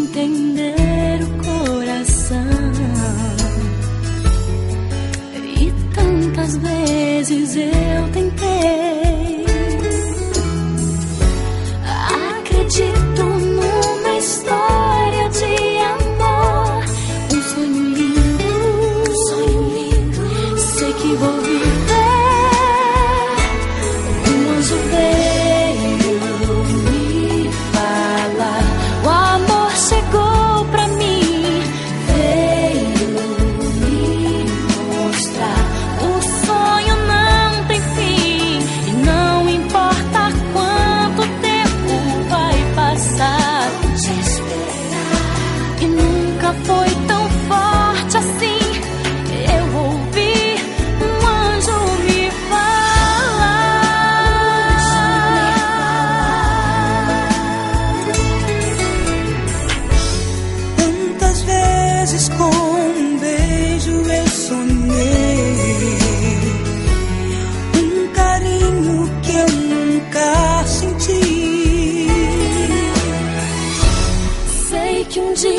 entender o coração. E tantas vezes eu tentei. Acredito numa história de amor, um sonho lindo, sei que vou viver. Um anjo veio me falar, o amor chegou pra mim, veio me mostrar, o sonho não tem fim. E não importa quanto tempo vai passar, te esperar. E nunca foi tão forte assim. Eu ouvi um anjo me falar. Quantas vezes com um beijo eu sonhei, um carinho que eu nunca senti. Sei que um dia